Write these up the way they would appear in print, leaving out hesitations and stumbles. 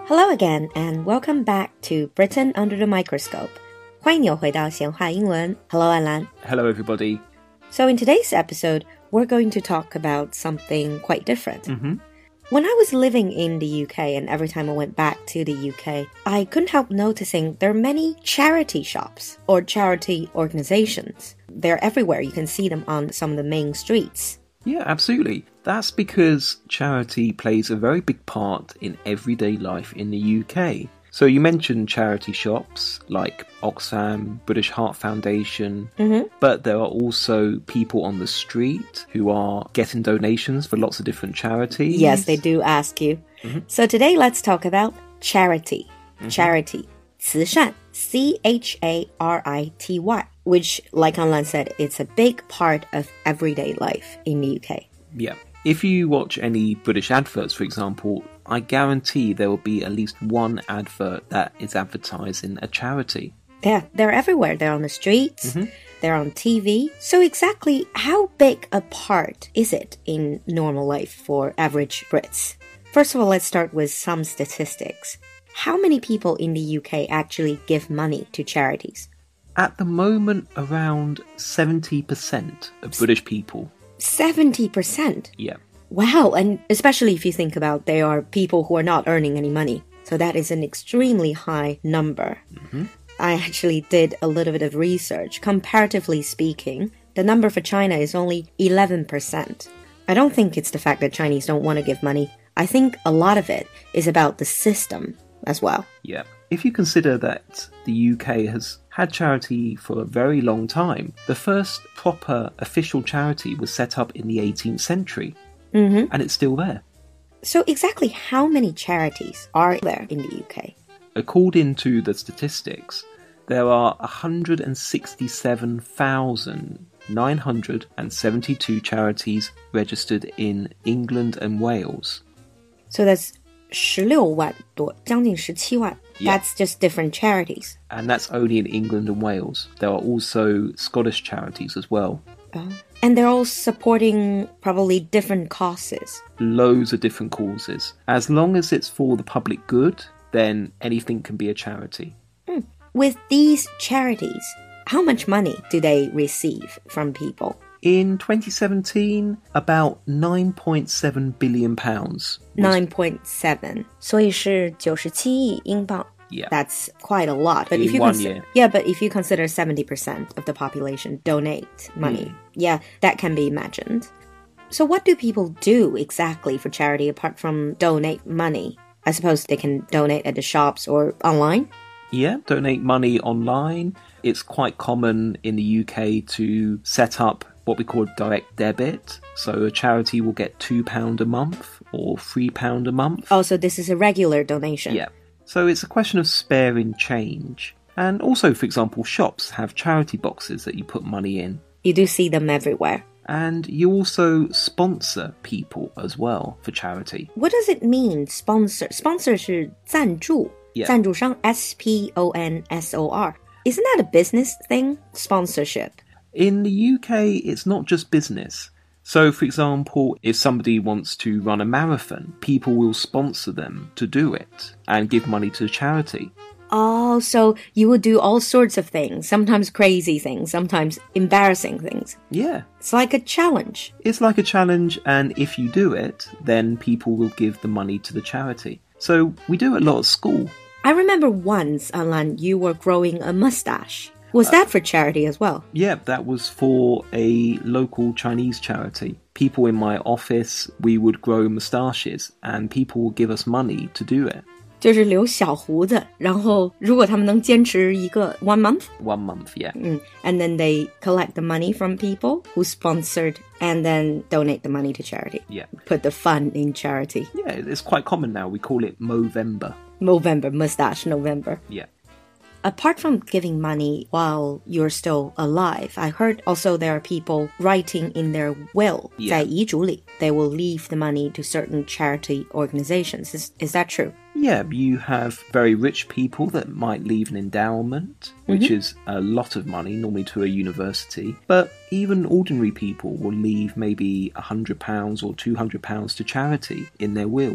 Hello again, and welcome back to Britain Under the Microscope. 欢迎你回到闲话英文. Hello, Alan. Hello, everybody. So in today's episode, we're going to talk about something quite different. When I was living in the UK, and every time I went back to the UK, I couldn't help noticing there are many charity shops or charity organizations. They're everywhere. You can see them on some of the main streets. Yeah, absolutely. That's because charity plays a very big part in everyday life in the UK. So you mentioned charity shops like Oxfam, British Heart Foundation, but there are also people on the street who are getting donations for lots of different charities. Yes, they do ask you. So today let's talk about charity. Charity. 慈善, C-H-A-R-I-T-Y, which, like Anlan said, it's a big part of everyday life in the UK. Yeah. If you watch any British adverts, for example, I guarantee there will be at least one advert that is advertising a charity. Yeah, they're everywhere. They're on the streets, they're on TV. So exactly how big a part is it in normal life for average Brits? First of all, let's start with some statistics. How many people in the UK actually give money to charities? At the moment, around 70% of British people. 70%? Yeah. Wow, and especially if you think about they are people who are not earning any money. So that is an extremely high number. I actually did a little bit of research. Comparatively speaking, the number for China is only 11%. I don't think it's the fact that Chinese don't want to give money. I think a lot of it is about the system as well. Yeah. If you consider that the UK has had charity for a very long time, the first proper official charity was set up in the 18th century. And it's still there. So exactly how many charities are there in the UK? According to the statistics, there are 167,972 charities registered in England and Wales. So that's 16万多, 将近17万. That's just different charities. And that's only in England and Wales. There are also Scottish charities as well. And they're all supporting probably different causes. Loads of different causes. As long as it's for the public good, then anything can be a charity. With these charities, how much money do they receive from people? In 2017, about £9.7 billion. 9.7. 所以是97亿英镑. Yeah. That's quite a lot. But in if you one year. Yeah, but if you consider 70% of the population donate money, yeah, that can be imagined. So what do people do exactly for charity apart from donate money? I suppose they can donate at the shops or online? Yeah, donate money online. It's quite common in the UK to set up what we call direct debit. So a charity will get £2 a month or £3 a month. Oh, so this is a regular donation. Yeah. So it's a question of sparing change. And also, for example, shops have charity boxes that you put money in. You do see them everywhere. And you also sponsor people as well for charity. What does it mean, sponsor? Sponsor 是赞助. Yeah. 赞助商, S-P-O-N-S-O-R. Isn't that a business thing? Sponsorship. In the UK, it's not just business. So, for example, if somebody wants to run a marathon, people will sponsor them to do it and give money to charity. Oh, so you would do all sorts of things, sometimes crazy things, sometimes embarrassing things. Yeah. It's like a challenge. It's like a challenge, and if you do it, then people will give the money to the charity. So we do it a lot at school. I remember once, Alan, you were growing a mustache. Was that for charity as well? Yeah, that was for a local Chinese charity. People in my office, we would grow moustaches, and people would give us money to do it. 就是留小胡子，然后如果他们能坚持一个 one month? 1 month, yeah. And then they collect the money from people who sponsored and then donate the money to charity. Yeah. Put the fun in charity. Yeah, it's quite common now. We call it Movember. Movember, mustache November. Yeah. Apart from giving money while you're still alive, I heard also there are people writing in their will, 在遗嘱里, they will leave the money to certain charity organizations. Is that true? Yeah, you have very rich people that might leave an endowment, which is a lot of money, normally to a university. But even ordinary people will leave maybe £100 or £200 to charity in their wills.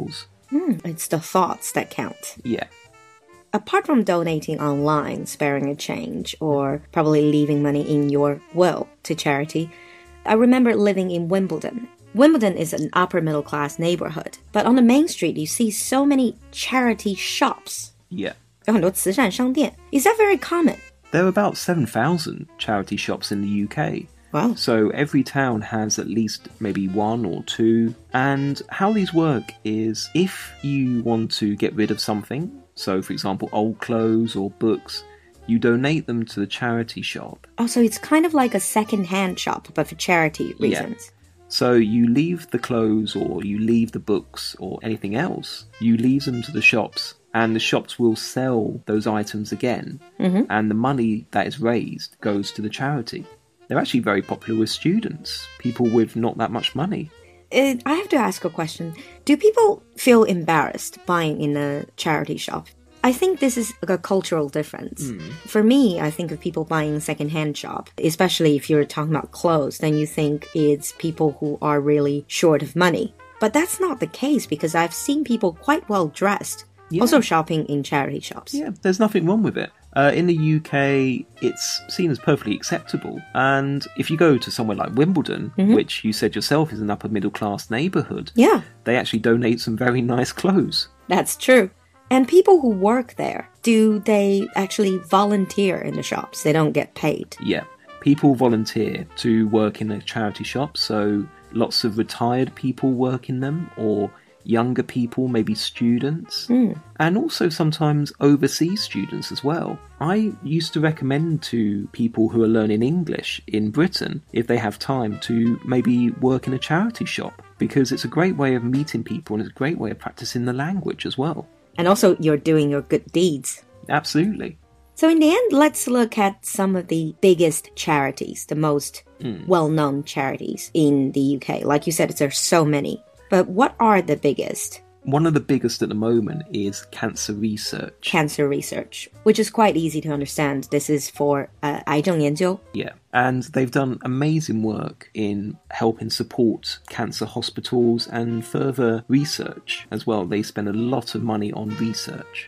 It's the thoughts that count. Yeah. Apart from donating online, sparing a change, or probably leaving money in your will to charity, I remember living in Wimbledon. Wimbledon is an upper middle class neighborhood, but on the main street you see so many charity shops. Yeah. 有很多慈善商店. Is that very common? There are about 7,000 charity shops in the UK. Wow. So every town has at least maybe one or two. And how these work is if you want to get rid of something, so for example old clothes or books, you donate them to the charity shop. Oh, so it's kind of like a second-hand shop, but for charity reasons. Yeah. So you leave the clothes or you leave the books or anything else, you leave them to the shops, and the shops will sell those items again, and the money that is raised goes to the charity. They're actually very popular with students, people with not that much money. I have to ask a question. Do people feel embarrassed buying in a charity shop? I think this is a cultural difference. For me, I think of people buying second-hand shop, especially if you're talking about clothes, then you think it's people who are really short of money. But that's not the case because I've seen people quite well dressed also shopping in charity shops. Yeah, there's nothing wrong with it. In the UK, it's seen as perfectly acceptable. And if you go to somewhere like Wimbledon, which you said yourself is an upper middle class neighbourhood, they actually donate some very nice clothes. That's true. And people who work there, do they actually volunteer in the shops? They don't get paid? Yeah. People volunteer to work in a charity shop, so lots of retired people work in them, or younger people, maybe students, and also sometimes overseas students as well. I used to recommend to people who are learning English in Britain, if they have time, to maybe work in a charity shop, because it's a great way of meeting people and it's a great way of practicing the language as well. And also you're doing your good deeds. Absolutely. So in the end, let's look at some of the biggest charities, the most well-known charities in the UK. Like you said, there's so many. But what are the biggest? One of the biggest at the moment is cancer research. Cancer research, which is quite easy to understand. This is for 癌症研究. Yeah, and they've done amazing work in helping support cancer hospitals and further research as well. They spend a lot of money on research.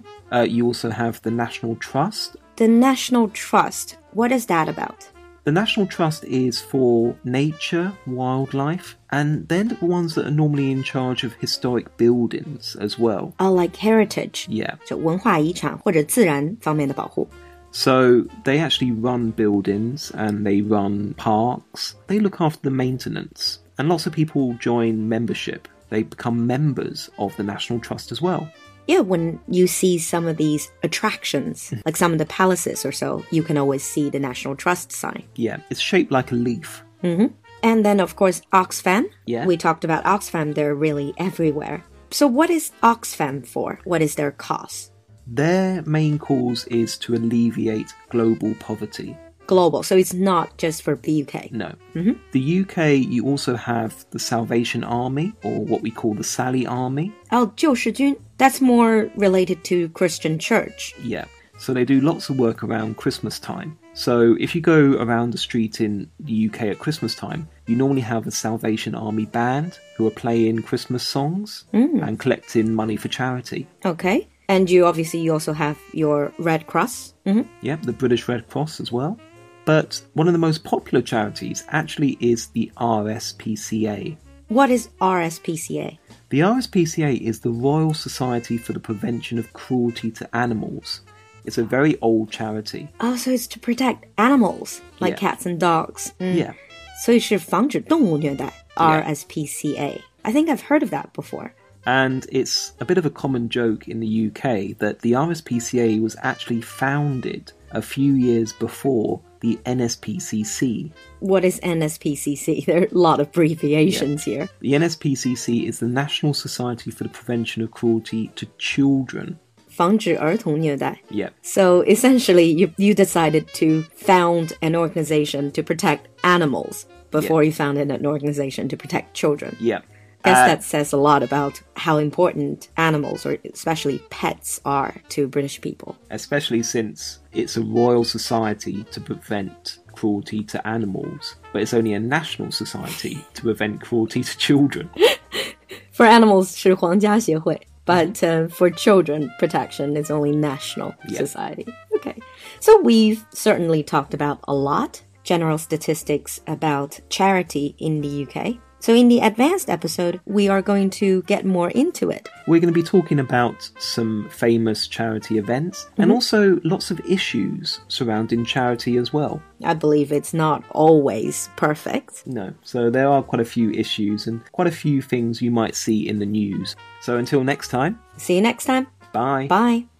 You also have the National Trust. The National Trust, what is that about? The National Trust is for nature, wildlife, and they're the ones that are normally in charge of historic buildings as well. Oh, like heritage. Yeah. 就文化遗产或者自然方面的保护. So they actually run buildings and they run parks. They look after the maintenance. And lots of people join membership. They become members of the National Trust as well. Yeah, when you see some of these attractions, like some of the palaces or so, you can always see the National Trust sign. Yeah, it's shaped like a leaf. And then, of course, Oxfam. Yeah. We talked about Oxfam. They're really everywhere. So what is Oxfam for? What is their cause? Their main cause is to alleviate global poverty. Global, so it's not just for the UK. No. The UK, you also have the Salvation Army, or what we call the Sally Army. Oh, 救世军. That's more related to Christian church. Yeah. So they do lots of work around Christmas time. So if you go around the street in the UK at Christmas time, you normally have a Salvation Army band who are playing Christmas songs and collecting money for charity. Okay. And you also have your Red Cross. Yeah, the British Red Cross as well. But one of the most popular charities actually is the RSPCA. What is RSPCA? The RSPCA is the Royal Society for the Prevention of Cruelty to Animals. It's a very old charity. Oh, so it's to protect animals, like cats and dogs. Yeah. 所以是防止动物虐待, RSPCA. I think I've heard of that before. And it's a bit of a common joke in the UK that the RSPCA was actually founded a few years before the NSPCC. What is NSPCC? There are a lot of abbreviations here. The NSPCC is the National Society for the Prevention of Cruelty to Children. 防止儿童虐待. Yeah. So essentially, you decided to found an organization to protect animals before you founded an organization to protect children. Yeah. I guess that says a lot about how important animals, or especially pets, are to British people. Especially since it's a royal society to prevent cruelty to animals, but it's only a national society to prevent cruelty to children. For animals, 是皇家协会. But for children protection, it's only national society. Okay. So we've certainly talked about a lot. General statistics about charity in the UK. So in the advanced episode, we are going to get more into it. We're going to be talking about some famous charity events and also lots of issues surrounding charity as well. I believe it's not always perfect. No, so there are quite a few issues and quite a few things you might see in the news. So until next time. See you next time. Bye. Bye.